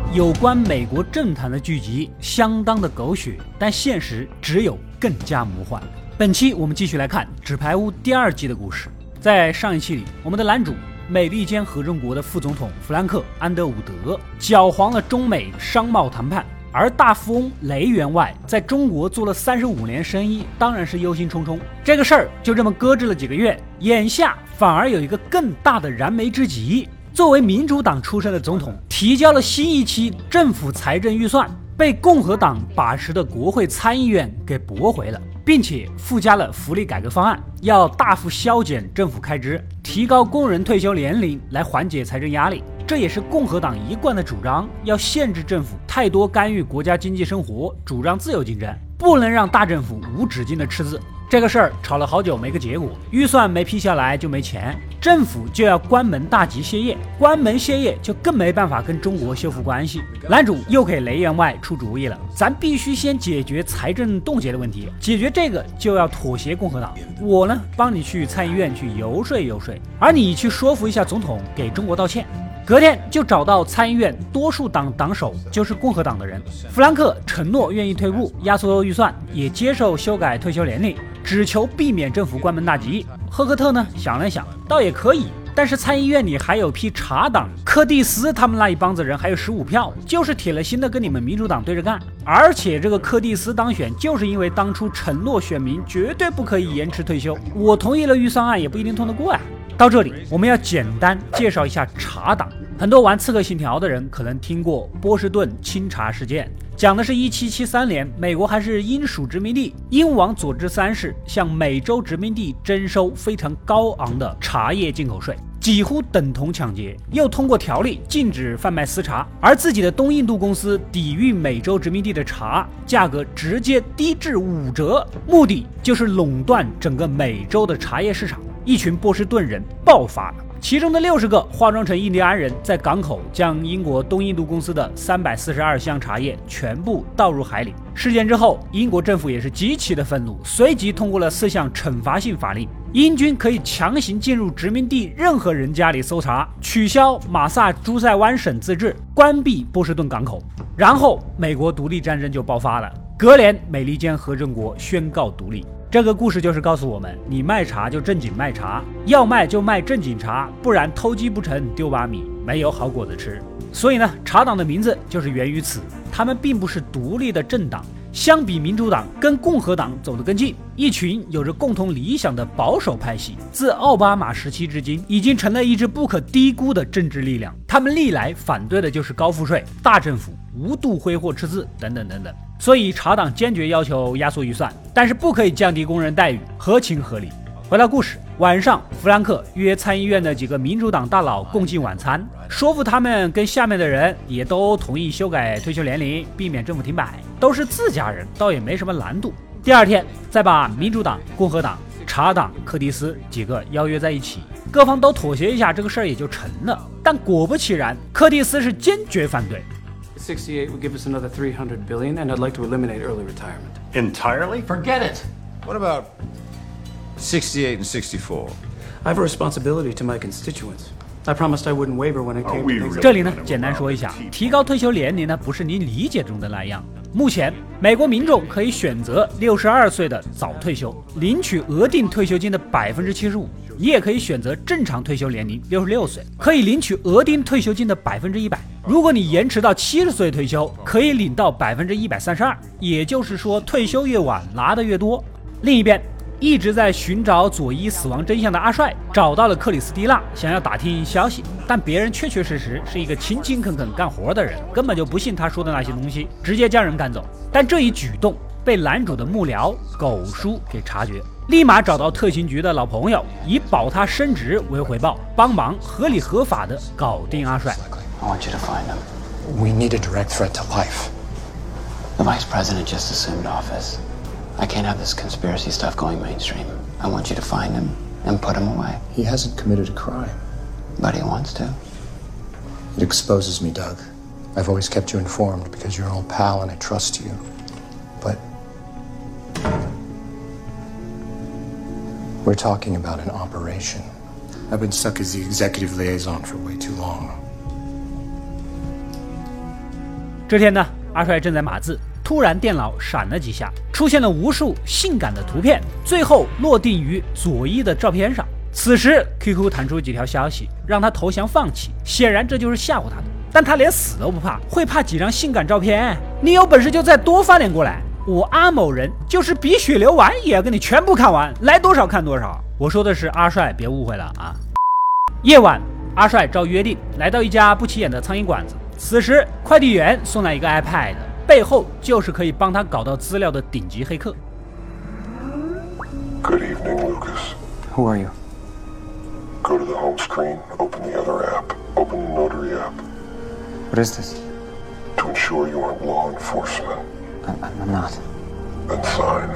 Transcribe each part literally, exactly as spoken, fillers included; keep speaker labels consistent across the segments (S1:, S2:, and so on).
S1: 有关美国政坛的剧集相当的狗血，但现实只有更加魔幻。本期我们继续来看《纸牌屋》第二季的故事。在上一期里，我们的男主美利坚合众国的副总统弗兰克·安德伍德搅黄了中美商贸谈判，而大富翁雷员外在中国做了三十五年生意，当然是忧心忡忡。这个事儿就这么搁置了几个月，眼下反而有一个更大的燃眉之急。作为民主党出身的总统，提交了新一期政府财政预算，被共和党把持的国会参议院给驳回了，并且附加了福利改革方案，要大幅削减政府开支，提高工人退休年龄来缓解财政压力。这也是共和党一贯的主张，要限制政府太多干预国家经济生活，主张自由竞争，不能让大政府无止境的赤字。这个事儿吵了好久没个结果，预算没批下来就没钱，政府就要关门大吉歇业，关门歇业就更没办法跟中国修复关系。男主又给雷员外出主意了，咱必须先解决财政冻结的问题，解决这个就要妥协共和党。我呢，帮你去参议院去游说游说，而你去说服一下总统给中国道歉。隔天就找到参议院多数党党首，就是共和党的人。弗兰克承诺愿意退步，压缩预算，也接受修改退休年龄，只求避免政府关门大吉。赫克特呢想了想，倒也可以，但是参议院里还有批茶党，柯蒂斯他们那一帮子人还有十五票，就是铁了心的跟你们民主党对着干。而且这个柯蒂斯当选，就是因为当初承诺选民绝对不可以延迟退休，我同意了预算案也不一定通得过呀。到这里，我们要简单介绍一下茶党。很多玩刺客信条的人可能听过波士顿清茶事件，讲的是一七七三年，美国还是英属殖民地，英王佐治三世向美洲殖民地征收非常高昂的茶叶进口税，几乎等同抢劫，又通过条例禁止贩卖私茶，而自己的东印度公司抵御美洲殖民地的茶价格直接低至五折，目的就是垄断整个美洲的茶叶市场。一群波士顿人爆发了，其中的六十个化妆成印第安人，在港口将英国东印度公司的三百四十二箱茶叶全部倒入海里。事件之后，英国政府也是极其的愤怒，随即通过了四项惩罚性法令，英军可以强行进入殖民地任何人家里搜查，取消马萨诸塞湾省自治，关闭波士顿港口。然后美国独立战争就爆发了，隔年美利坚合众国宣告独立。这个故事就是告诉我们，你卖茶就正经卖茶，要卖就卖正经茶，不然偷鸡不成丢把米，没有好果子吃。所以呢，茶党的名字就是源于此，他们并不是独立的政党，相比民主党跟共和党走得更近，一群有着共同理想的保守派系，自奥巴马时期至今已经成了一支不可低估的政治力量。他们历来反对的就是高赋税、大政府、无度挥霍赤字等等等等。所以茶党坚决要求压缩预算，但是不可以降低工人待遇，合情合理。回到故事，晚上弗兰克约参议院的几个民主党大佬共进晚餐，说服他们跟下面的人也都同意修改退休年龄，避免政府停摆，都是自家人，倒也没什么难度。第二天再把民主党、共和党、茶党、柯蒂斯几个邀约在一起，各方都妥协一下，这个事儿也就成了。但果不其然，柯蒂斯是坚决反对。
S2: sixty-eight would give us another three hundred billion, and I'd like to eliminate early retirement.
S3: Entirely?
S4: Forget it.
S5: What about sixty-eight and sixty-four?
S2: I have a responsibility to my constituents. I promised I wouldn't waver when it came to things.
S1: 这里呢，简单说一下，提高退休年龄呢，不是你理解中的那样。目前，美国民众可以选择六十二岁的早退休，领取额定退休金的百分之七十五；你也可以选择正常退休年龄六十六岁，可以领取额定退休金的百分之一百。如果你延迟到七十岁退休，可以领到百分之一百三十二，也就是说，退休越晚拿得越多。另一边，一直在寻找佐伊死亡真相的阿帅找到了克里斯蒂娜，想要打听消息，但别人确确实实是一个勤勤恳恳干活的人，根本就不信他说的那些东西，直接将人赶走。但这一举动被男主的幕僚狗叔给察觉，立马找到特勤局的老朋友，以保他升职为回报，帮忙合理合法的搞定阿帅。
S6: I want you to find him.
S4: We need a direct threat to life.
S6: The vice president just assumed office. I can't have this conspiracy stuff going mainstream. I want you to find him and put him away.
S4: He hasn't committed a crime.
S6: But he wants to.
S4: It exposes me, Doug. I've always kept you informed because you're an old pal and I trust you. But we're talking about an operation. I've been stuck as the executive liaison for way too long.
S1: 这天呢，阿帅正在码字，突然电脑闪了几下，出现了无数性感的图片，最后落定于佐伊的照片上。此时 Q Q 弹出几条消息，让他投降放弃，显然这就是吓唬他的。但他连死都不怕，会怕几张性感照片？你有本事就再多发点过来，我阿某人就是比血流完也要跟你全部看完，来多少看多少。我说的是阿帅，别误会了啊。夜晚，阿帅照约定来到一家不起眼的苍蝇馆子，此时快递员送来一个 iPad， 背后就是可以帮他搞到资料的顶级黑客。
S3: Good evening, Lucas.
S2: Who are you?
S3: Go to the home screen, open the other app, open the Notary app.
S2: What is this?
S3: To ensure you aren't law enforcement.
S2: I, I'm not.
S3: Then sign.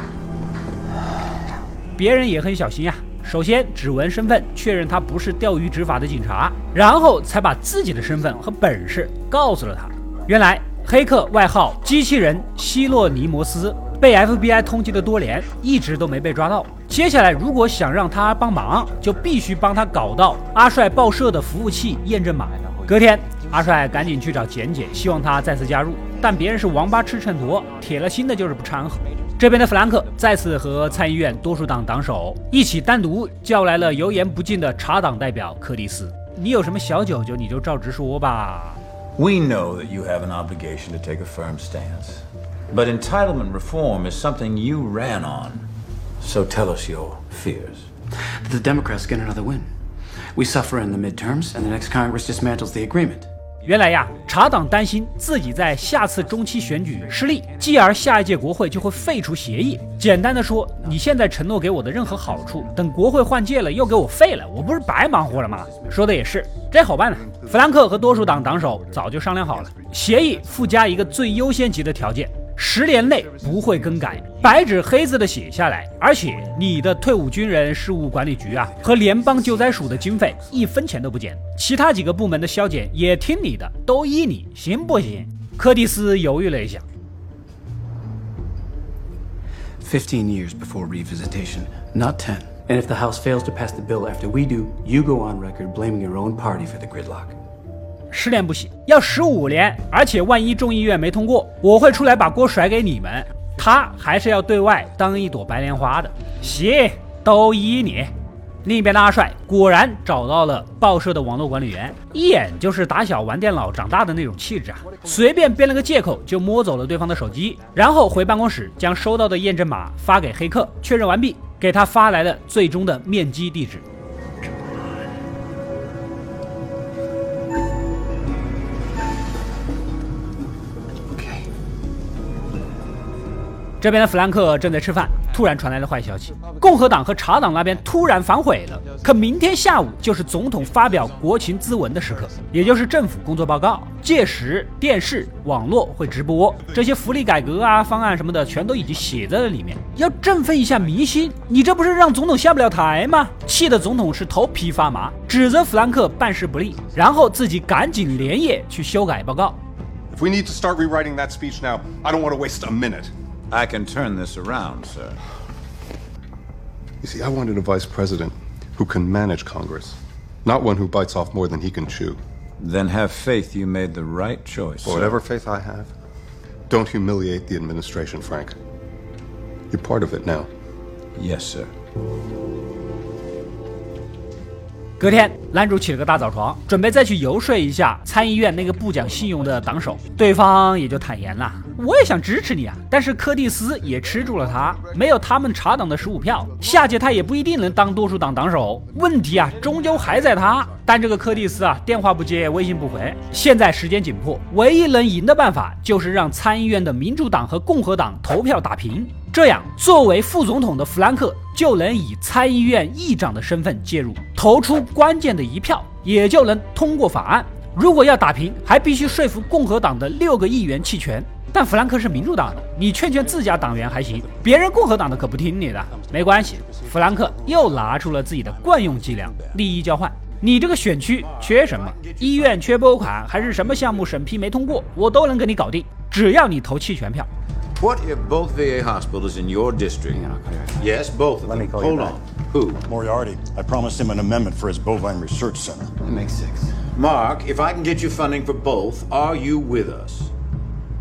S1: 别人也很小心呀、啊，首先指纹身份，确认他不是钓鱼执法的警察，然后才把自己的身份和本事告诉了他。原来黑客外号机器人希洛尼摩斯被 F B I 通缉了多年，一直都没被抓到。接下来如果想让他帮忙，就必须帮他搞到阿帅报社的服务器验证码。隔天，阿帅赶紧去找简简，希望他再次加入，但别人是王八吃秤砣，铁了心的就是不掺和。这边的弗兰克再次和参议院多数党党首一起单独叫来了油盐不进的茶党代表柯蒂斯。你有什么小九九你就照直说吧。
S5: We know that you have an obligation to take a firm stance, but entitlement reform is something you ran on. So tell us your fears.
S2: The Democrats get another win. We suffer in the midterms, and the next Congress dismantles the agreement.
S1: 原来呀，茶党担心自己在下次中期选举失利，继而下一届国会就会废除协议。简单的说，你现在承诺给我的任何好处，等国会换届了又给我废了，我不是白忙活了吗？说的也是，这好办呢。弗兰克和多数党党首早就商量好了，协议附加一个最优先级的条件。 十年内不会更改，白纸黑字的写下来，而且你的退伍军人事务管理局啊和联邦救灾署的经费一分钱都不减，其他几个部门的削减也听你的，都依你，行不行？柯蒂斯犹豫了一下。
S2: Fifteen years before revisitation, not ten. And if the House fails to pass the bill after we do, you go on record blaming your own party for the gridlock.
S1: 十年不行，要十五年，而且万一众议院没通过，我会出来把锅甩给你们。他还是要对外当一朵白莲花的。行，都依你。另一边的阿帅果然找到了报社的网络管理员，一眼就是打小玩电脑长大的那种气质啊！随便编了个借口就摸走了对方的手机，然后回办公室将收到的验证码发给黑客，确认完毕，给他发来了最终的面基地址。 这边的弗兰克正在吃饭，突然传来了坏消息：共和党和茶党那边突然反悔了。可明天下午就是总统发表国情咨文的时刻，也就是政府工作报告。届时电视、网络会直播这些福利改革啊、方案什么的，全都已经写在了里面，要振奋一下民心。你这不是让总统下不了台吗？气的总统是头皮发麻，指责弗兰克办事不力，然后自己赶紧连夜去修改报告。
S3: If we need to start rewriting that speech now, I don't want to waste a minute.
S5: I can turn this around, sir.
S3: You see, I wanted a vice president who can manage Congress, not one who bites off more than he can chew.
S5: Then have faith you made the right choice.
S3: Whatever faith I have, don't humiliate the administration, Frank. You're part of it now.
S5: Yes, sir.
S1: 隔天，男主起了个大早床，准备再去游说一下参议院那个不讲信用的党首，对方也就坦言了：“我也想支持你啊，但是柯蒂斯也吃住了他，没有他们茶党的十五票，下届他也不一定能当多数党党首。问题啊，终究还在他。但这个柯蒂斯啊，电话不接，微信不回，现在时间紧迫，唯一能赢的办法就是让参议院的民主党和共和党投票打平。” 这样，作为副总统的弗兰克就能以参议院议长的身份介入，投出关键的一票，也就能通过法案。如果要打平，还必须说服共和党的六个议员弃权。但弗兰克是民主党的，你劝劝自家党员还行，别人共和党的可不听你的。没关系，弗兰克又拿出了自己的惯用伎俩——利益交换。你这个选区缺什么？医院缺拨款，还是什么项目审批没通过，我都能给你搞定，只要你投弃权票。
S5: What if both V A hospitals in your district? Yes, both of them. Hold on. Who?
S7: Moriarty. I promised him an amendment for his bovine research center.
S2: That makes six.
S5: Mark, if I can get you funding for both, are you with us?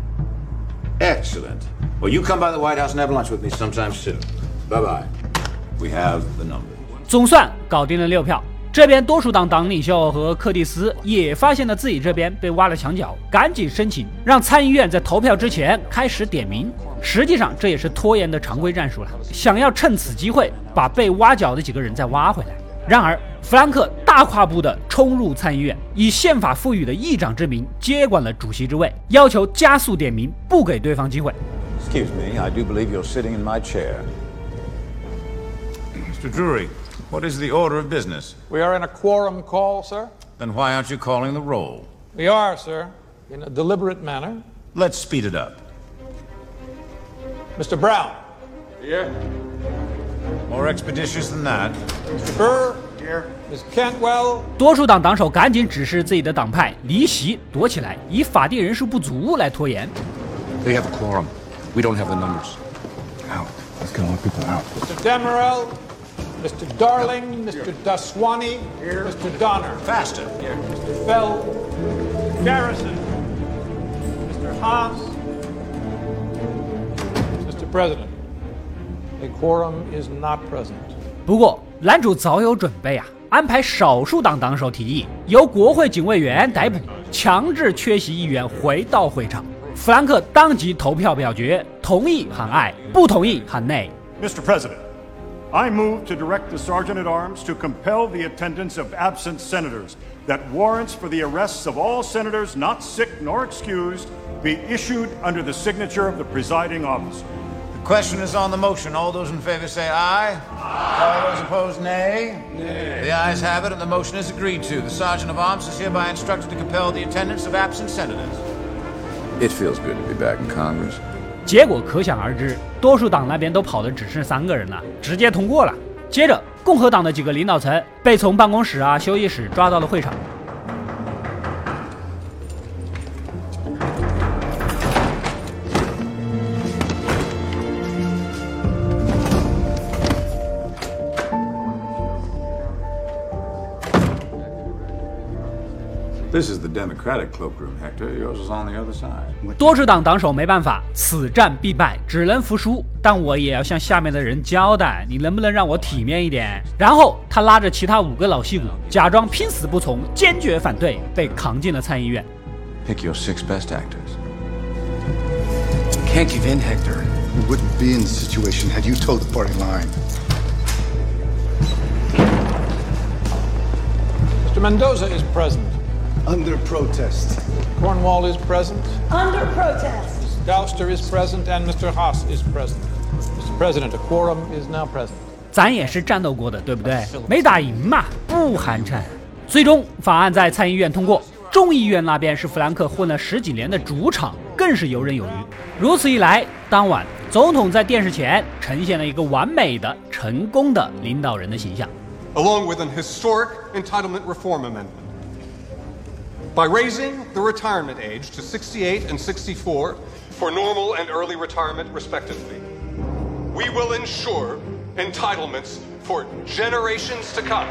S5: Excellent. Well, you come by the White House and have lunch with me sometime soon. Bye-bye. We have the number.
S1: 总算搞定了六票。这边多数党党领袖和柯蒂斯也发现了自己这边被挖了墙角，赶紧申请让参议院在投票之前开始点名。实际上这也是拖延的常规战术了，想要趁此机会把被挖角的几个人再挖回来。然而弗兰克大跨步的冲入参议院，以宪法赋予的议长之名接管了主席之位，要求加速点名，不给对方机会。
S5: Excuse me, I do believe you're sitting in my chair. Mister Drury, what is the order of business?
S8: We are in a quorum call, sir.
S5: Then why aren't you calling the roll?
S8: We are, sir, in a deliberate manner.
S5: Let's speed it up.
S8: Mister Brown.
S5: Here. More expeditious than that.
S8: Mister Burr. Here. Miz Cantwell.
S1: 多数党党首赶紧指示自己的党派离席躲起来，以法定人数不足来拖延。
S3: They have a quorum. We don't have the numbers. Out. Let's get more people out.
S8: Mister Demerel. Mister Darling. Mister Daswani. Here. Mister Donner.
S5: Faster. Here.
S8: Mister Fell. Garrison. Mister Haas. Mister President, a quorum is not present.
S1: 不过男主早有准备啊，安排少数党党首提议由国会警卫员逮捕，强制缺席议员回到会场。弗兰克当即投票表决，同意喊爱，不同意喊内。
S7: Mister President, I move to direct the Sergeant at Arms to compel the attendance of absent senators, that warrants for the arrests of all senators not sick nor excused be issued under the signature of the presiding officer.
S5: The question is on the motion. All those in favor say aye. Aye. All those opposed, nay. Nay. The ayes have it, and the motion is agreed to. The Sergeant of Arms is hereby instructed to compel the attendance of absent senators. It feels good to be back in Congress.
S1: 结果可想而知，多数党那边都跑的只剩三个人了，直接通过了。接着，共和党的几个领导层被从办公室啊、休息室抓到了会场。
S5: This is the Democratic cloakroom, Hector. Yours is on the other side.
S1: 多数党党首没办法，此战必败，只能服输。但我也要向下面的人交代，你能不能让我体面一点？然后他拉着其他五个老戏骨，假装拼死不从，坚决反对，被扛进了参议院。
S5: Pick your six best actors.
S9: Can't give in, Hector.
S10: We wouldn't be in this situation had you toed the party line.
S8: Mister Mendoza is present.
S10: Under protest.
S8: Cornwall is present.
S11: Under protest.
S8: Miz Gouster is present, and Mister Haas is present. Mister President, a quorum is now present.
S1: 咱也是战斗过的，对不对？没打赢嘛，不寒碜。最终法案在参议院通过，众议院那边是弗兰克混了十几年的主场，更是游刃有余。如此一来，当晚总统在电视前呈现了一个完美的、成功的领导人的形象。
S12: Along with an historic entitlement reform amendment. By raising the retirement age to sixty-eight and sixty-four for normal and early retirement, respectively, we will ensure entitlements for generations to come.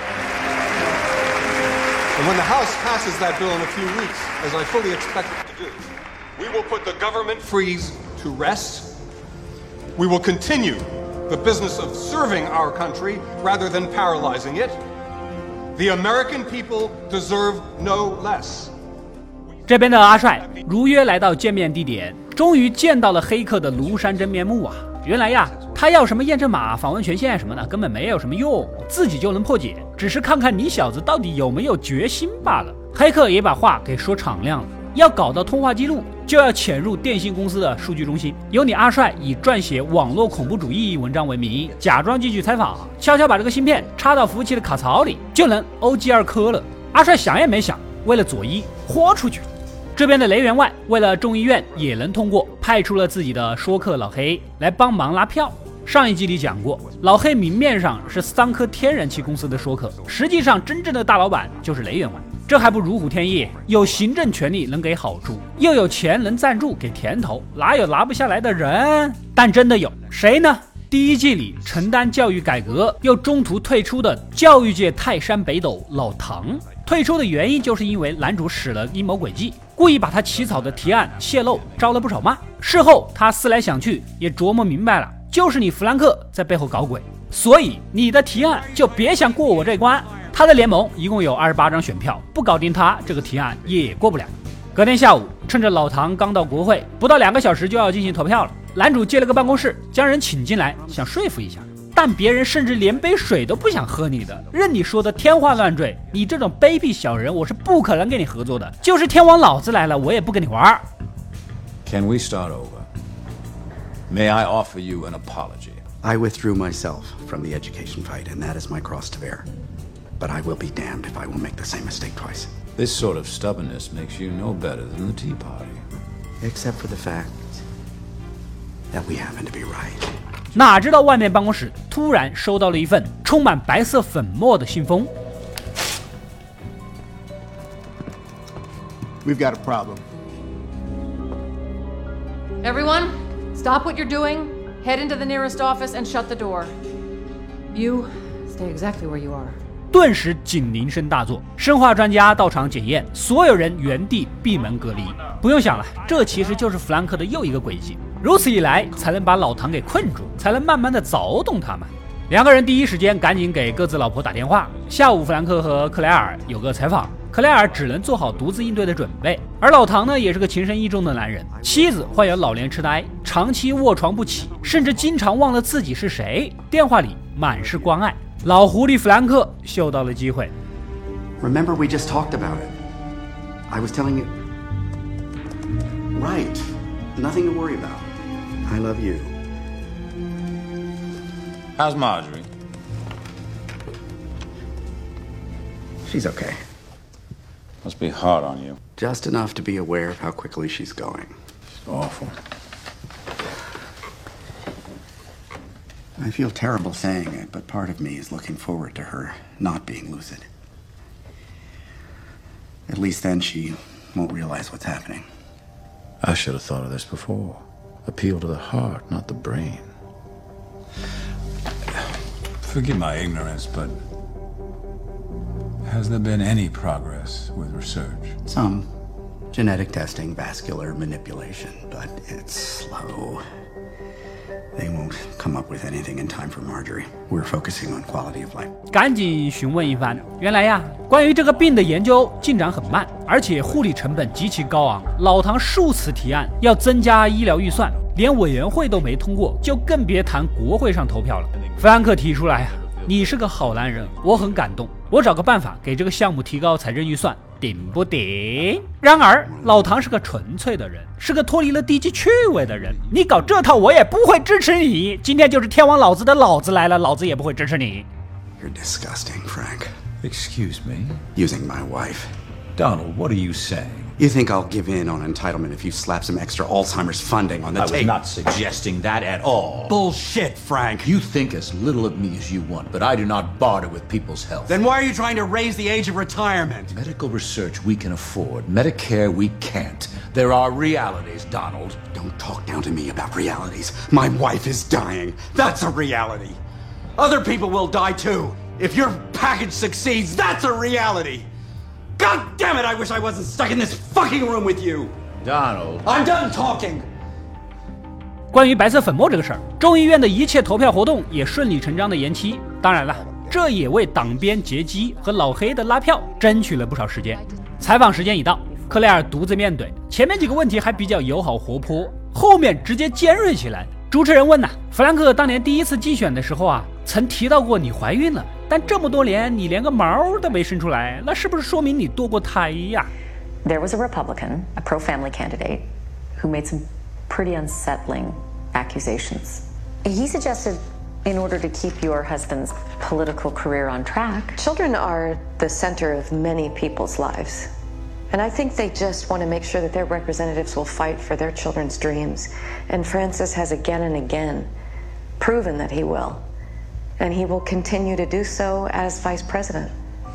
S12: And when the House passes that bill in a few weeks, as I fully expect it to do, we will put the government freeze to rest. We will continue the business of serving our country rather than paralyzing it. The American people deserve no less.
S1: 这边的阿帅如约来到见面地点，终于见到了黑客的庐山真面目啊！原来呀，他要什么验证码、访问权限什么的，根本没有什么用，自己就能破解，只是看看你小子到底有没有决心罢了。黑客也把话给说敞亮了，要搞到通话记录，就要潜入电信公司的数据中心，由你阿帅以撰写网络恐怖主义文章为名，假装继续采访，悄悄把这个芯片插到服务器的卡槽里，就能 O G 二科了。阿帅想也没想，为了左一豁出去。这边的雷员外为了众议院也能通过，派出了自己的说客老黑来帮忙拉票。上一集里讲过，老黑明面上是三颗天然气公司的说客，实际上真正的大老板就是雷员外。这还不如虎添翼，有行政权力能给好处，又有钱能赞助给甜头，哪有拿不下来的人？但真的有谁呢？第一季里承担教育改革又中途退出的教育界泰山北斗老唐， 退出的原因就是因为男主使了阴谋诡计，故意把他起草的提案泄露，招了不少骂。事后他思来想去，也琢磨明白了，就是你弗兰克在背后搞鬼，所以你的提案就别想过我这关。他的联盟一共有二十八张选票，不搞定他，这个提案也过不了。隔天下午，趁着老唐刚到国会，不到两个小时就要进行投票了，男主借了个办公室，将人请进来，想说服一下。但别人甚至连杯水都不想喝你的，任你说的天花乱坠。你这种卑鄙小人，我是不可能跟你合作的。就是天王老子来了，我也不跟你玩。
S5: Can we start over? May I offer you an apology?
S9: I withdrew myself from the education fight, and that is my cross to bear. But I will be damned if I will make the same mistake twice.
S5: This sort of stubbornness makes you no better than the Tea Party.
S9: Except for the fact that we happen to be right.
S1: 哪知道外面办公室突然收到了一份充满白色粉末的信封。
S10: We've got a problem.
S11: Everyone, stop what you're doing. Head into the nearest office and shut the door. You stay exactly where you are.
S1: 顿时警铃声大作，生化专家到场检验，所有人原地闭门隔离。不用想了，这其实就是弗兰克的又一个诡计。如此一来，才能把老唐给困住，才能慢慢的凿动他们。两个人第一时间赶紧给各自老婆打电话。下午，弗兰克和克莱尔有个采访，克莱尔只能做好独自应对的准备。而老唐呢，也是个情深意重的男人，妻子患有老年痴呆，长期卧床不起，甚至经常忘了自己是谁，电话里满是关爱。老狐狸弗兰克嗅到了机会。
S9: Remember, we just talked about it. I was telling you. Right. Nothing to worry about. I love you.
S5: How's Marjorie?
S9: She's okay.
S5: Must be hard on you.
S9: Just enough to be aware of how quickly she's going.
S5: It's awful.
S9: I feel terrible saying it, but part of me is looking forward to her not being lucid. At least then she won't realize what's happening.
S5: I should have thought of this before. Appeal to the heart, not the brain. Forgive my ignorance, but has there been any progress with research?
S9: Some. Genetic testing, vascular manipulation, but it's slow. They won't come up with anything in time for Marjorie. We're focusing on quality of life.
S1: 赶紧询问一番，原来呀，关于这个病的研究进展很慢，而且护理成本极其高昂。老唐数次提案要增加医疗预算，连委员会都没通过，就更别谈国会上投票了。弗兰克提出来呀，你是个好男人，我很感动，我找个办法给这个项目提高财政预算。顶不顶？然而老唐是个纯粹的人，是个脱离了低级趣味的人。你搞这套，我也不会支持你。今天就是天王老子的老子来了，老子也不会支持你。
S9: You're disgusting, Frank.
S5: Excuse me?
S9: Using my wife.
S5: Donald, what are you saying?
S9: You think I'll give in on entitlement if you slap some extra Alzheimer's funding on the table?
S13: I was not suggesting that at all.
S9: Bullshit, Frank.
S13: You think as little of me as you want, but I do not barter with people's health.
S9: Then why are you trying to raise the age of retirement?
S13: Medical research we can afford. Medicare we can't. There are realities, Donald.
S9: Don't talk down to me about realities. My wife is dying. That's a reality. Other people will die too. If your package succeeds, that's a reality. God damn it, I wish I wasn't stuck in this fucking room with you.
S13: Donald.
S9: I'm done talking.
S1: 关于白色粉末这个事儿，众议院的一切投票活动也顺理成章的延期。当然了，这也为党鞭劫机和老黑的拉票争取了不少时间。采访时间已到，克莱尔独自面对，前面几个问题还比较友好活泼，后面直接尖锐起来。主持人问呐、啊，弗兰克当年第一次竞选的时候啊，曾提到过你怀孕了，但这么多年你连个毛都没生出来，那是不是说明你堕过胎呀？
S14: There was a Republican, a pro-family candidate, who made some pretty unsettling accusations. He suggested, in order to keep your husband's political career on track,
S15: children are the center of many people's lives. And I think they just want to make sure that their representatives will fight for their children's dreams. And Francis has again and again proven that he will. And he will continue to do so as vice president.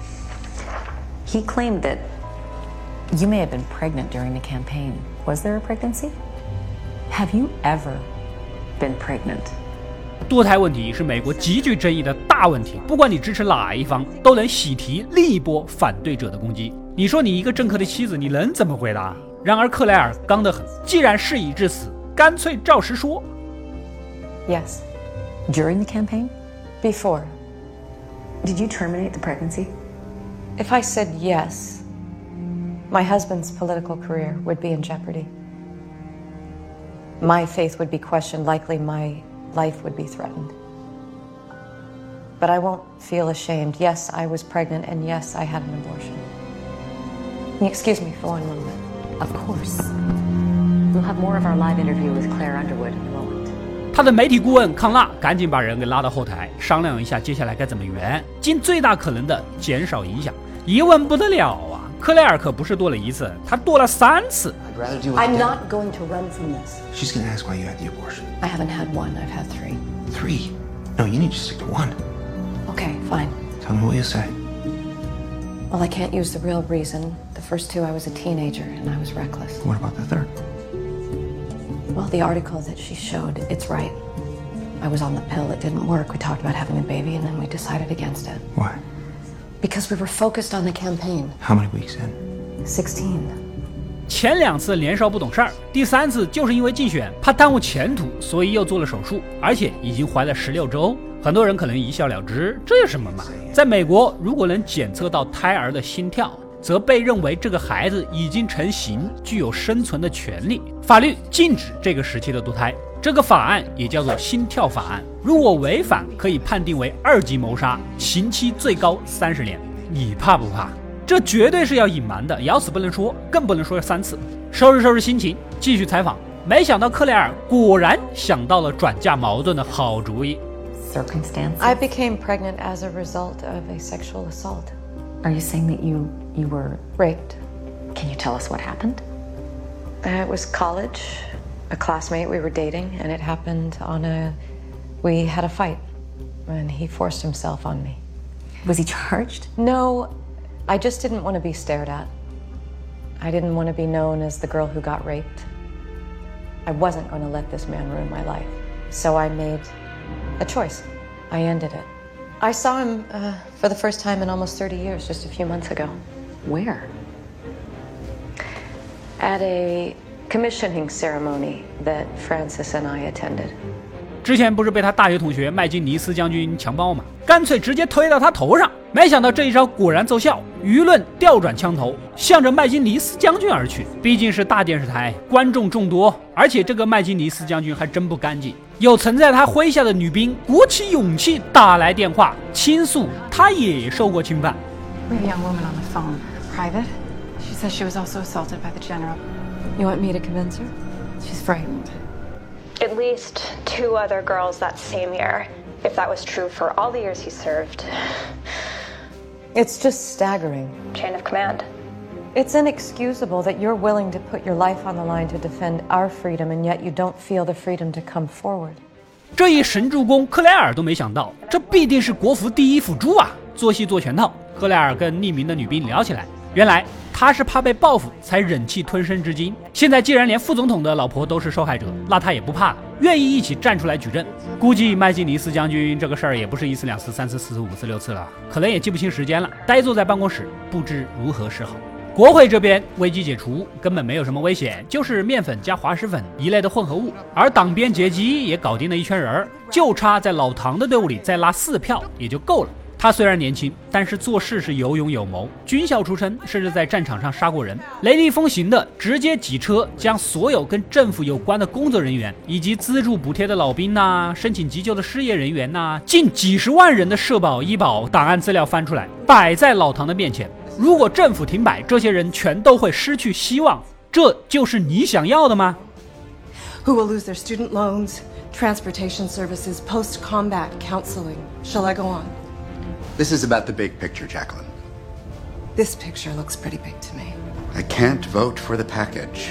S14: He claimed that you may have been pregnant during the campaign. Was there a pregnancy? Have you ever been pregnant?
S1: 堕胎问题是美国极具争议的大问题，不管你支持哪一方，都能喜提另一波反对者的攻击。你说你一个政客的妻子，你能怎么回答？然而克莱尔刚得很，既然事已至此，干脆照实说。
S14: Yes. During the campaign?
S15: Before.
S14: Did you terminate the pregnancy?
S15: If I said yes, my husband's political career would be in jeopardy. My faith would be questioned, likely my life would be threatened. But I won't feel ashamed. Yes, I was pregnant, and yes, I had an abortion. Excuse me for one moment.
S14: Of course. We'll have more of our live interview with Claire Underwood in a moment.
S1: 他的媒体顾问康纳赶紧把人给拉到后台，商量一下接下来该怎么圆，尽最大可能的减少影响。一问不得了啊，克莱尔可不是堕了一次，他堕了三次。
S15: I'm not going to run from this.
S16: She's going to ask why you had the abortion.
S15: I haven't had one. I've had three.
S16: Three? No, you need to stick to one.
S15: Okay, fine.
S16: Tell me what you say.
S15: Well, I can't use the real reason. The first two, I was a teenager and I was reckless.
S16: What about the third?
S15: Well, the article that she showed, it's right. I was on the pill. It didn't work. We talked about having a baby and then we decided against it.
S16: Why?
S15: Because we were focused on the campaign.
S16: How many weeks in?
S15: Sixteen.
S1: 前两次年少不懂事儿，第三次就是因为竞选怕耽误前途，所以又做了手术，而且已经怀了十六周。很多人可能一笑了之，这有什么嘛？在美国，如果能检测到胎儿的心跳，则被认为这个孩子已经成型，具有生存的权利。法律禁止这个时期的堕胎，这个法案也叫做心跳法案。如果违反，可以判定为二级谋杀，刑期最高三十年。你怕不怕？这绝对是要隐瞒的，咬死不能说，更不能说三次。收拾收拾心情，继续采访。没想到克莱尔果然想到了转嫁矛盾的好主意。
S14: Circumstances?
S15: I became pregnant as a result of a sexual assault.
S14: Are you saying that you you were
S15: raped?
S14: Can you tell us what happened?
S15: Uh, it was college, a classmate we were dating, and it happened on a. We had a fight, and he forced himself on me.
S14: Was he charged?
S15: No, I just didn't want to be stared at. I didn't want to be known as the girl who got raped. I wasn't going to let this man ruin my life, so I made a choice. I ended it. I saw him uh, for the first time in almost thirty years, just a few months ago.
S14: Where?
S15: At a commissioning ceremony that Francis and I attended.
S1: 之前不是被他大学同学麦金尼斯将军强暴吗？干脆直接推到他头上。没想到这一招果然奏效，舆论调转枪头，向着麦金尼斯将军而去。毕竟是大电视台，观众众多，而且这个麦金尼斯将军还真不干净。有曾在他麾下的女兵鼓起勇气打来电话，倾诉他也受过侵犯。
S17: We have a young woman on the phone. Private. She says she was also assaulted by the general.
S15: You want me to convince her?
S17: She's frightened.
S18: At least two other girls that same year, if that was true for all the years he served.
S15: It's just staggering.
S18: Chain of command.
S15: It's inexcusable that you're willing to put your life on the line to defend our freedom, and yet you don't feel the freedom to come forward.
S1: 这一神助攻，克莱尔都没想到，这必定是国服第一辅助啊！做戏做全套。克莱尔跟匿名的女兵聊起来，原来他是怕被报复才忍气吞声至今。现在既然连副总统的老婆都是受害者，那他也不怕了，愿意一起站出来举证。估计麦金尼斯将军这个事儿也不是一次两次三次四次五次六次了，可能也记不清时间了，呆坐在办公室不知如何是好。国会这边危机解除，根本没有什么危险，就是面粉加滑石粉一类的混合物。而党边杰基也搞定了一圈人，就差在老唐的队伍里再拉四票也就够了。他虽然年轻，但是做事是有勇有谋，军校出身，甚至在战场上杀过人，雷厉风行的直接几车将所有跟政府有关的工作人员，以及资助补贴的老兵呐、啊、申请急救的失业人员呐、啊，近几十万人的社保医保档案资料翻出来，摆在老唐的面前。如果政府停摆，这些人全都会失去希望，这就是你想要的吗？
S19: Who will lose their student loans, transportation services, post-combat counseling? Shall I go on?
S10: This is about the big picture, Jacqueline.
S19: This picture looks pretty big to me.
S10: I can't vote for the package.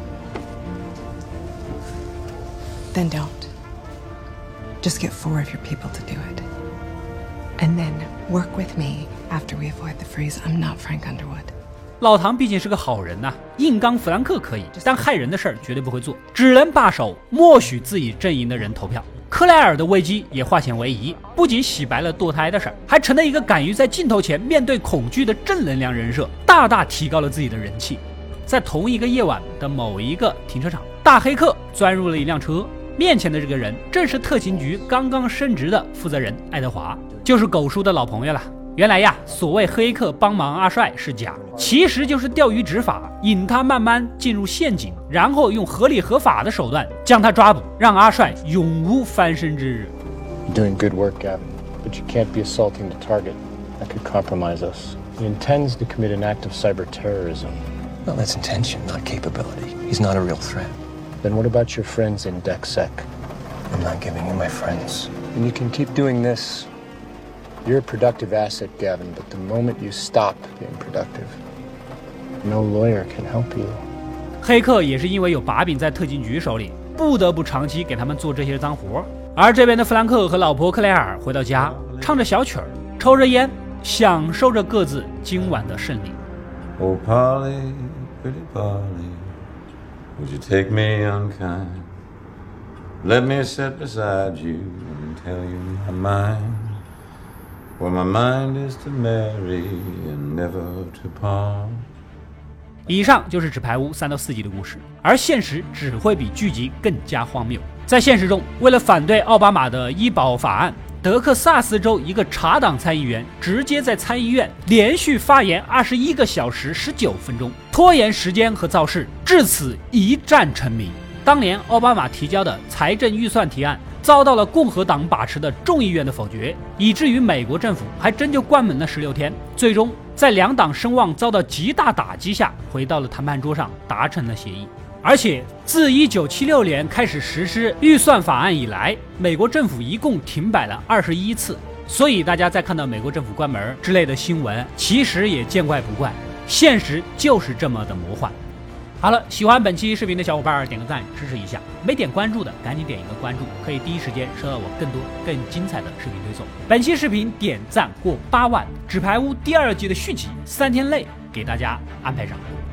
S19: Then don't. Just get four of your people to do it. And then work with me after we avoid the freeze. I'm not Frank Underwood.
S1: 老唐毕竟是个好人呐、啊，硬刚弗兰克可以，但害人的事儿绝对不会做，只能罢手，默许自己阵营的人投票。 克莱尔的危机也化险为夷，不仅洗白了堕胎的事儿，还成了一个敢于在镜头前面对恐惧的正能量人设，大大提高了自己的人气。在同一个夜晚的某一个停车场，大黑客钻入了一辆车，面前的这个人正是特勤局刚刚升职的负责人爱德华，就是狗叔的老朋友了。原来呀，所谓黑客帮忙阿帅是假，其实就是钓鱼执法，引他慢慢进入陷阱，然后用合理合法的手段将他抓捕，让阿帅永无翻身之日。
S4: You're doing good work, Gavin, but you can't be assaulting the target. That could compromise us. He intends to commit an act of cyber terrorism.
S16: Well, that's intention, not capability. He's not a real threat.
S4: Then what about your friends in DecSec?
S16: I'm not giving you my friends.
S4: And you can keep doing this. You're a productive asset, Gavin, but the moment you stop being productive, no lawyer can help you.
S1: 黑客也是因为有把柄在特勤局手里，不得不长期给他们做这些脏活。而这边的弗兰克和老婆克莱尔回到家，唱着小曲儿，抽着烟，享受着各自今晚的胜利。
S20: Oh, Polly, pretty Polly, would you take me unkind? Let me sit beside you and tell you my mind. For my mind is to marry and never to part.
S1: 以上就是纸牌屋三到四集的故事，而现实只会比剧集更加荒谬。在现实中，为了反对奥巴马的医保法案，德克萨斯州一个茶党参议员直接在参议院连续发言二十一个小时十九分钟，拖延时间和造势，至此一战成名。当年奥巴马提交的财政预算提案遭到了共和党把持的众议院的否决，以至于美国政府还真就关门了十六天，最终在两党声望遭到极大打击下，回到了谈判桌上达成了协议。而且自一九七六年开始实施预算法案以来，美国政府一共停摆了二十一次，所以大家在看到美国政府关门之类的新闻，其实也见怪不怪，现实就是这么的魔幻。好了，喜欢本期视频的小伙伴点个赞支持一下，没点关注的赶紧点一个关注，可以第一时间收到我更多更精彩的视频推送。本期视频点赞过八万，纸牌屋第二季的续集三天内给大家安排上。